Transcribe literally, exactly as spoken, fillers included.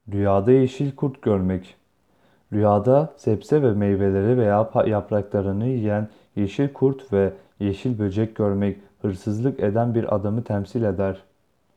Rüyada yeşil kurt görmek. Rüyada sebze ve meyveleri veya pa- yapraklarını yiyen yeşil kurt ve yeşil böcek görmek hırsızlık eden bir adamı temsil eder.